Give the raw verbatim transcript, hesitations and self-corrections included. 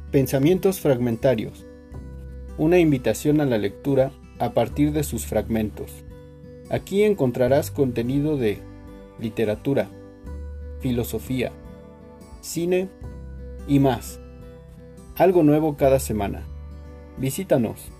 Pensamientos fragmentarios. Una invitación a la lectura a partir de sus fragmentos. Aquí encontrarás contenido de literatura, filosofía, cine y más. Algo nuevo cada semana. Visítanos.